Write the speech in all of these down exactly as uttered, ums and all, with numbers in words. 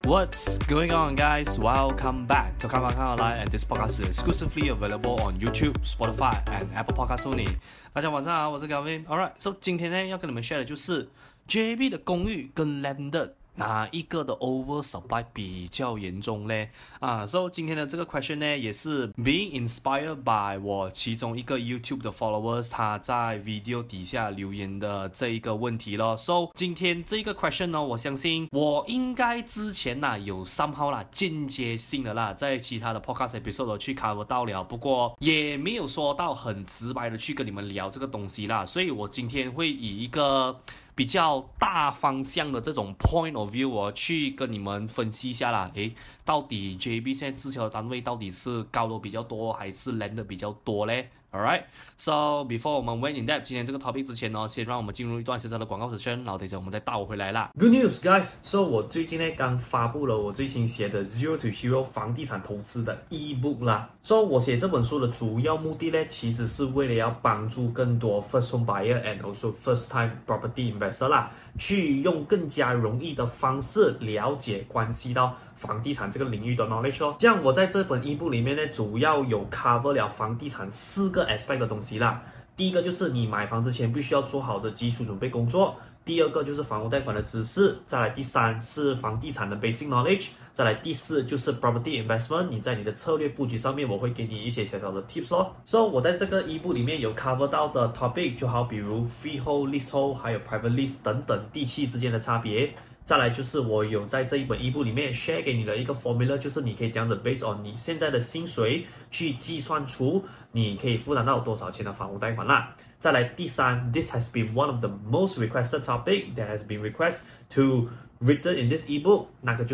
What's going on, guys? Welcome back to Come On Come Online, and this podcast is exclusively available on YouTube, Spotify, and Apple Podcasts only. 大家晚上好，我是 Gavin。Alright, so 今天呢要跟你們 share 的就是 J B 的公寓跟 landed 哪一個的 oversupply 比較嚴重嘞？啊 ，so 今天的這個 question 呢，也是 being inspired by 我其中一個 YouTube 的 followers 他在 video 底下留言的這一個問題咯。So 今天這個 question 呢，我相信我應該之前啦有 somehow 啦間接性的啦，在其他的 podcast episode 去 cover 到了，不過也沒有說到很直白的去跟你們聊這個東西啦，所以我今天會以一個比較大方向的這種 point of view 我去跟你們分析一下啦，誒，到底 J B 現在滯銷的單位到底是高樓比較多還是 land 的比較多嘞？ Alright, so before 我們 went in depth 今天這個 topic 之前呢，先讓我們進入一段小小的廣告時間，然後等一下我們再帶我回來啦。 Good news, guys! So 我最近呢剛發布了我最新寫的 Zero to Hero 房地產投資的 ebook 啦。So 我寫這本書的主要目的呢，其實是為了要幫助更多 first home buyer and also first time property investor 啦，去用更加容易的方式了解關係到房地產這個領域的 knowledge 哦。這樣我在這本 ebook 裡面呢，主要有 cover 了房地產四個 aspect 的東西啦。第一個就是你買房之前必須要做好的基礎準備工作，第二個就是房屋貸款的知識，再來第三是房地產的 basic knowledge， 再來第四就是 property investment， 你在你的策略布局上面我會給你一些小小的 tips 哦。So 我在這個 ebook 裡面有 cover 到的 topic 就好比如 freehold、leasehold 還有 private lease 等等地契之間的差別。再來就是我有在這一本 ebook 裡面 share 給你的一個 formula， 就是你可以這樣子 based on 你現在的薪水去計算出你可以負擔到多少錢的房屋貸款啦。再來第三 ，this has been one of the most requested topic that has been requested to written in this ebook， 那個就是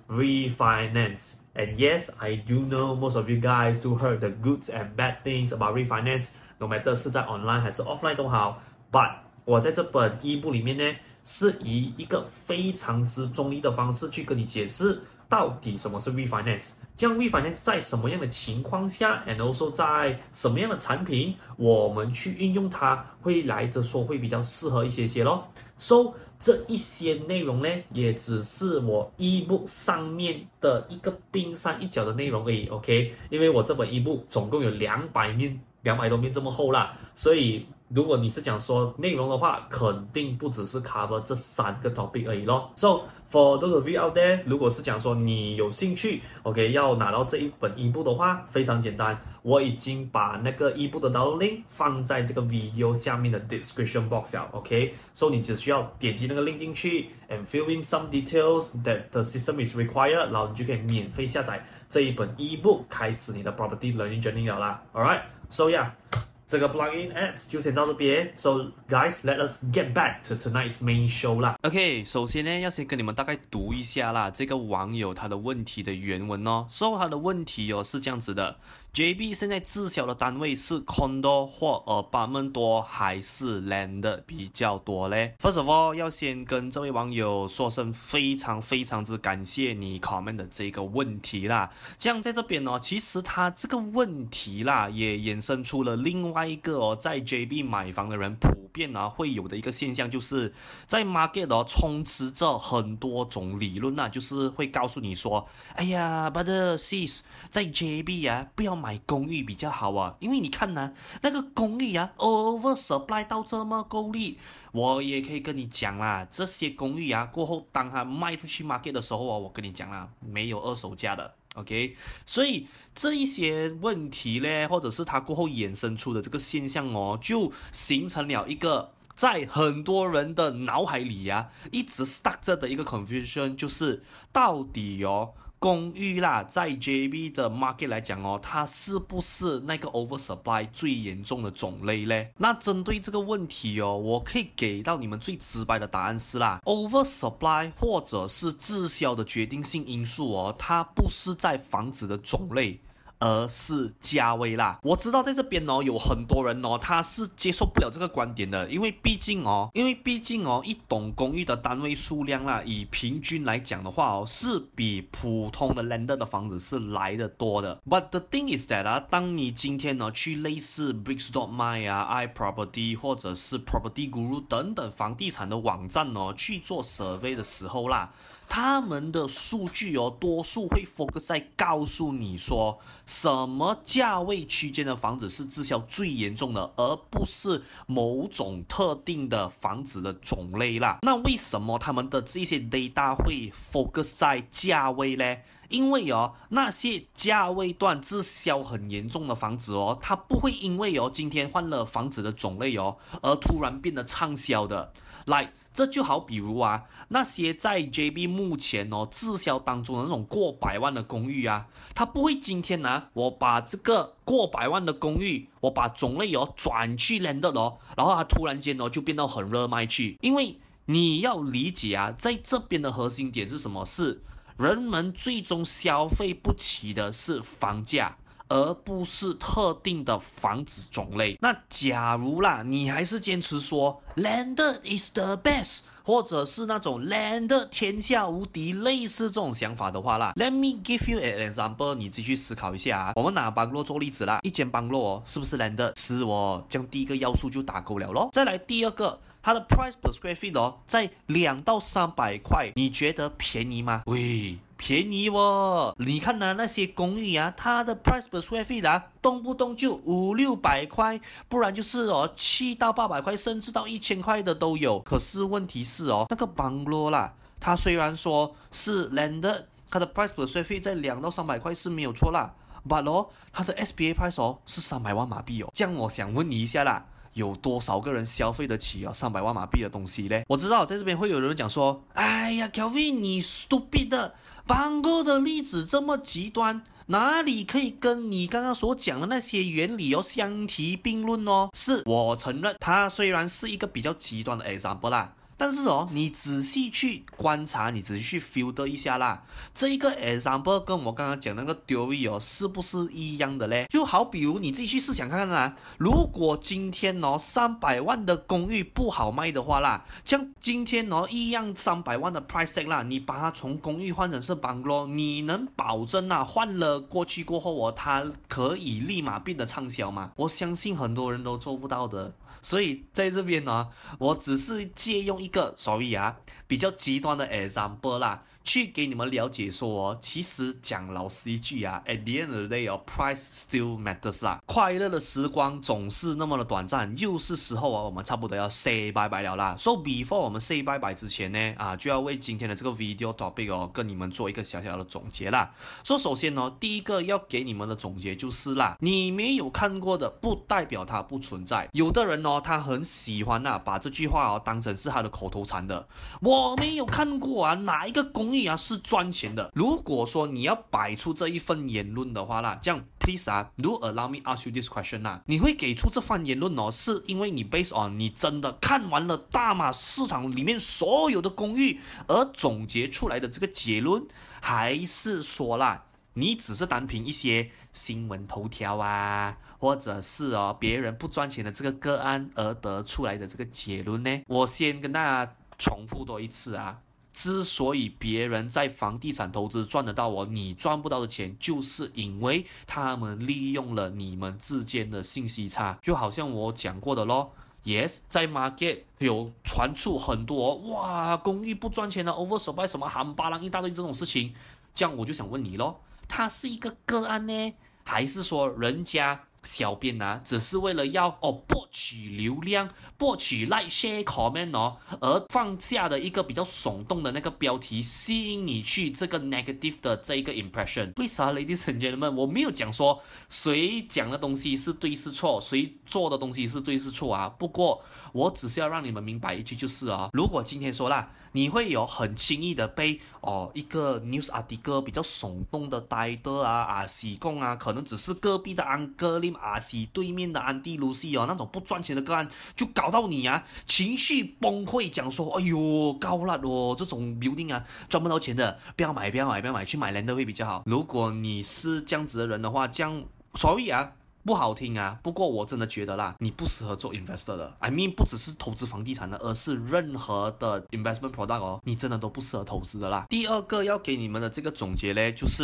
refinance。And yes, I do know most of you guys do heard the goods and bad things about refinance，no matter 是在 online 還是 offline 都好 ，but 我在這本 ebook 裡面呢，是以一個非常之中立的方式去跟你解釋到底什麼是 refinance， 這樣 refinance 在什麼樣的情況下 and also 在什麼樣的產品我們去運用它會來的說會比較適合一些些咯。So 這一些內容呢，也只是我 ebook 上面的一個冰山一角的內容而已 ，OK？ 因為我這本 ebook 總共有兩百面，兩百多面這麼厚啦，所以如果你是講說內容的話，肯定不只是 cover 這三個 topic 而已咯。So for those of you out there， 如果是講說你有興趣 ，OK， 要拿到這一本 ebook 的話，非常簡單，我已經把那個 ebook 的 download link 放在這個 video 下面的 description box 了 ，OK，So 你只需要點擊那個 link 進去 and fill in some details that the system is required， 然後你就可以免費下載這一本 ebook， 開始你的 property learning journey 了啦。Alright，so yeah。這個 plugin ads 就先到這邊 ，So guys, let us get back to tonight's main show 啦。 OK， 首先呢，要先跟你們大概讀一下啦，這個網友他的問題的原文哦。So 他的問題哦是這樣子的 ，J B 現在滯銷的單位是 condo 或 apartment 多還是 land 比較多嘞 ？First of all， 要先跟這位網友說聲非常非常之感謝你 comment 的這個問題啦。這樣在這邊哦，其實他這個問題啦，也衍生出了另外。另外一個哦，在 J B 買房的人普遍啊會有的一個現象，就是在 market 哦充斥着很多種理論啊，就是會告訴你說，哎呀 ，brother sis， 在 J B 啊不要買公寓比較好啊，因為你看啊，那個公寓啊 oversupply 到這麼夠力。我也可以跟你講啦，這些公寓啊過後當它賣出去 market 的時候啊，我跟你講啦，沒有二手價的。OK， 所以這一些問題呢，或者是它過後衍生出的這個現象哦，就形成了一個在很多人的腦海裡啊，一直 stuck 着的一個 confusion， 就是到底哦。公寓啦，在 J B 的 market 來講哦，它是不是那個 oversupply 最嚴重的種類呢？那針對這個問題哦，我可以給到你們最直白的答案是啦 ，oversupply 或者是滯銷的決定性因素哦，它不是在房子的種類。而是價位啦。我知道在這邊哦，有很多人哦，他是接受不了這個觀點的，因為畢竟哦，因為畢竟哦，一棟公寓的單位數量啦，以平均來講的話哦，是比普通的 landed 的房子是來得多的。But the thing is that 啊，當你今天呢去類似 Bricks dot my 啊、iProperty 或者是 Property Guru 等等房地產的網站哦去做 survey 的時候啦， 他們的數據哦，多數會 focus 在告訴你說，什麼價位區間的房子是滯銷最嚴重的，而不是某種特定的房子的種類啦。那為什麼他們的這些 data 會 focus 在價位呢？因為哦，那些價位段滯銷很嚴重的房子哦，它不會因為哦今天換了房子的種類哦，而突然變得暢銷的。來，這就好比如啊，那些在 J B 目前哦滯銷當中的那種過百萬的公寓啊，它不會今天呢、啊，我把這個過百萬的公寓，我把種類哦轉去 landed 哦，然後它突然間哦就變到很熱賣去，因為你要理解啊，在這邊的核心點是什麼？是人們最終消費不起的是房價，而不是特定的房子種類。那假如啦，你還是堅持說 landed is the best， 或者是那種 landed 天下無敵，類似這種想法的話啦 ，Let me give you an example， 你繼續思考一下啊。我們拿 bungalow 做例子啦，一間 bungalow哦，是不是 landed？是哦，這樣第一個要素就打勾了咯。再來第二個。它的 price per square feet 哦，在兩到三百塊，你覺得便宜嗎？喂，便宜哦！你看呢、啊，那些公寓啊，它的 price per square feet 啊，動不動就五六百塊，不然就是哦七到八百塊，甚至到一千塊的都有。可是問題是哦，那個 bungalow 啦，它雖然說是 landed， 它的 price per square feet 在兩到三百塊是沒有錯啦，but 哦，它的 S B A price 哦是三百萬馬幣哦。這樣我想問你一下啦。有多少個人消費得起啊三百萬馬幣的東西呢？我知道在這邊會有人講說，哎呀 Kelvin 你 stupid 的 Bungalow 的例子這麼極端，哪裡可以跟你剛剛所講的那些原理哦相提並論哦？是我承認，它雖然是一個比較極端的 example 啦。但是哦，你仔細去觀察，你仔細去 filter 一下啦，這一個 example 跟我剛剛講那個 theory 哦，是不是一樣的嘞？就好比如你自己去試想看看啦，如果今天哦三百萬的公寓不好賣的話啦，像今天哦一樣三百萬的 price tag 啦，你把它從公寓換成是 bungalow， 你能保證啊換了過去過後哦，它可以立馬變得暢銷嗎？我相信很多人都做不到的。所以在這邊呢，我只是借用一個 sorry 啊比較極端的 example 啦，去給你們了解說哦，其實講老實一句啊 ，at the end of the day 哦 ，price still matters 啦。快樂的時光總是那麼的短暫，又是時候啊，我們差不多要 say bye bye 了啦。So before 我們 say bye bye 之前呢，啊，就要為今天的這個 video topic 哦，跟你們做一個小小的總結啦。所以首先哦，第一個要給你們的總結就是啦，你沒有看過的不代表它不存在。有的人哦，他很喜歡吶、啊，把這句話哦當成是他的口頭禪的。我沒有看過啊，哪一個公寓啊是賺錢的？如果說你要擺出這一份言論的話啦，這樣 please 啊 ，do allow me ask you this question 啦，你會給出這番言論哦，是因為你 based on 你真的看完了大馬市場裡面所有的公寓而總結出來的這個結論，還是說啦，你只是單憑一些新聞頭條啊，或者是哦別人不賺錢的這個個案而得出來的這個結論呢？我先跟大家重複多一次啊，之所以別人在房地產投資賺得到哦，你賺不到的錢，就是因為他們利用了你們之間的信息差。就好像我講過的咯。Yes， 在 market 有傳出很多、哦、哇公寓不賺錢的 oversupply 什麼冚巴啷一大堆這種事情，這樣我就想問你咯，它是一個個案呢，還是說人家小編啊只是為了要哦博取流量、博取 like share comment 哦，而放下的一個比較聳動的那個標題，吸引你去這個 negative 的這一個 impression。為啥 ladies and gentlemen，我沒有講說誰講的東西是對是錯，誰做的東西是對是錯啊，不過我只是要讓你們明白一句，就是啊、哦，如果今天說啦，你會有很輕易的被哦一個 news article 比較聳動的 title 啊啊喜供啊，可能只是隔壁的安哥林阿西對面的安迪盧西哦那種不賺錢的個案，就搞到你啊情緒崩潰，講說哎呦高辣哦這種 building 啊賺不到錢的，不要買不要買不要買，去買 land 會比較好。如果你是這樣子的人的話，這樣 sorry 啊。不好聽啊，不過我真的覺得啦，你不適合做 investor 的。I mean 不只是投資房地產的，而是任何的 investment product 哦，你真的都不適合投資的啦。第二個要給你們的這個總結呢，就是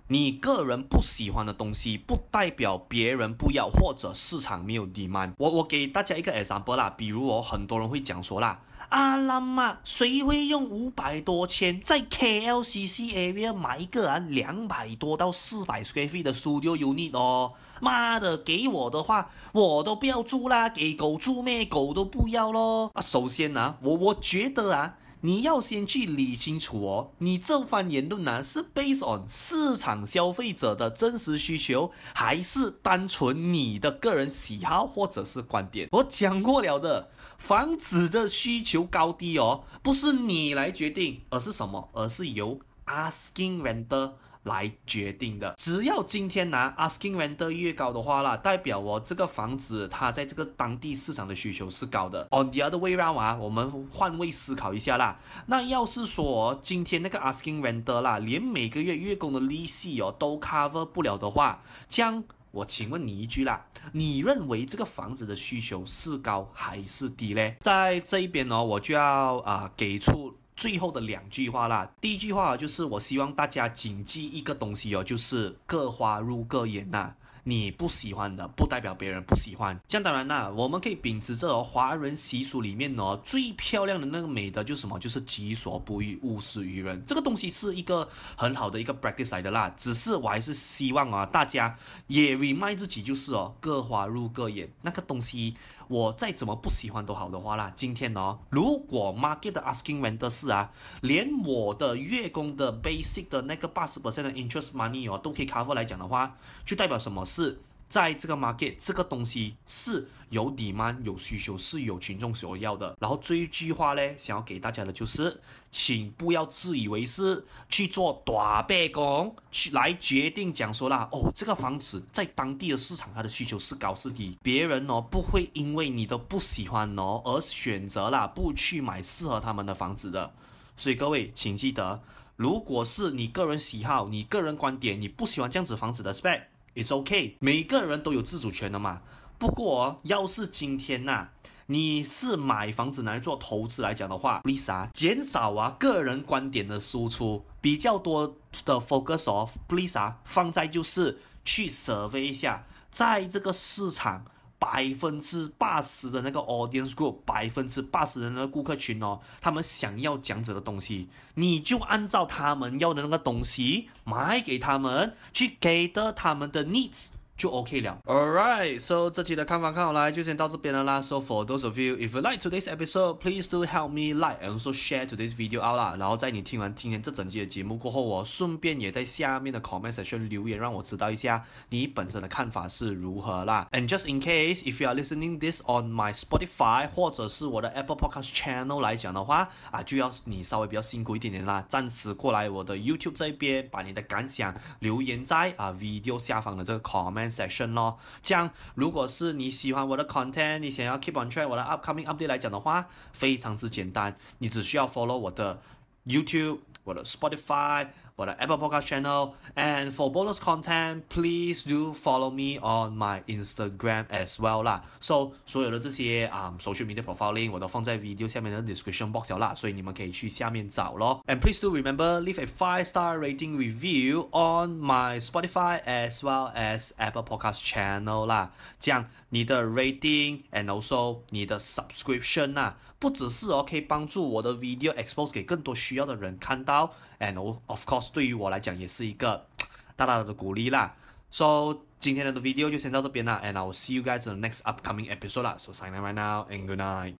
你個人不喜歡的東西，不代表別人不要或者市場沒有 demand。我我給大家一個 example 啦，比如哦，很多人會講說啦，啊啦嘛，誰會用五百多千在 K L C C area 買一個啊兩百多到四百 square feet 的 studio unit 哦？媽的，給我的話我都不要住啦，給狗住咩？狗都不要咯。啊，首先啊，我我覺得啊。你要先去理清楚哦，你這番言論呢是 based on 市場消費者的真實需求，還是單純你的個人喜好或者是觀點？我講過了的，房子的需求高低哦，不是你來決定，而是什麼？而是由 asking renter來決定的。只要今天拿 asking renter 越高的話啦，代表我這個房子它在這個當地市場的需求是高的。On the other way round 啊，我們換位思考一下啦。那要是說今天那個 asking renter 啦，連每個月月供的利息哦都 cover 不了的話，這樣我請問你一句啦，你認為這個房子的需求是高還是低嘞？在這一邊哦，我就要啊、呃、給出最後的兩句話啦，第一句話就是我希望大家謹記一個東西哦，就是各花入各眼吶。你不喜歡的不代表別人不喜歡。這樣當然啦，我們可以秉持着哦，華人習俗裡面哦最漂亮的那個美德就是什麼？就是己所不欲，勿施於人。這個東西是一個很好的一個 practice 來的啦。只是我還是希望啊，大家也 remind 自己，就是哦，各花入各眼。那個東西我再怎麼不喜歡都好的話啦，今天哦，如果 market 的 asking rent 是啊，連我的月供的 basic 的那個八十 percent 的 interest money 哦都可以 cover 來講的話，就代表什麼？是在這個 market 這個東西是有 demand 有需求，是有群眾所要的。然後這一句話呢，想要給大家的就是請不要自以為是去做大白工去來決定講說啦，哦，這個房子在當地的市場它的需求是高是低，別人哦不會因為你的不喜歡哦而選擇啦不去買適合他們的房子的。所以各位請記得，如果是你個人喜好你個人觀點，你不喜歡這樣子房子的 spec，It's okay， 每個人都有自主權的嘛。不過要是今天吶、啊，你是買房子拿來做投資來講的話 ，please 啊，減少啊個人觀點的輸出，比較多的 focus 哦 ，please 啊，放在就是去 survey 一下，在這個市場百分之八十的那個 audience group， 百分之八十的那個顧客群哦，他們想要這樣子的東西，你就按照他們要的那個東西買給他們，去給的他們的 needs。就 OK 了。Alright, so 這期的看法看好來就先到這邊了啦。So for those of you, if you like today's episode, please do help me like and also share today's video out 啦。然後在你聽完今天這整期的節目過後，我順便也在下面的 comment section 留言，讓我知道一下你本身的看法是如何啦。And just in case, if you are listening this on my Spotify 或者是我的 Apple Podcast channel 來講的話，啊，就要你稍微比較辛苦一點點啦，暫時過來我的 YouTube 這邊，把你的感想留言在啊 video 下方的這個 comment section 咯，這樣如果是你喜歡我的 content， 你想要 keep on track 我的 upcoming update 來講的話，非常之簡單，你只需要 follow 我的 YouTube、我的 Spotify、我的 Apple Podcast channel，and for bonus content, please do follow me on my Instagram as well 啦。So 所有的這些啊、um, social media profiling 我都放在 video 下面的 description box 啦，所以你們可以去下面找咯。And please do remember leave a five star rating review on my Spotify as well as Apple Podcast channel 啦。這樣你的 rating and also 你的 subscription 啊，不只是哦可以幫助我的 video expose 給更多需要的人看到 ，and of course 對於我來講也是一個大大的鼓勵啦。So 今天的 video 就先到這邊啦，and I will see you guys in the next upcoming episode 啦。So sign out right now and good night.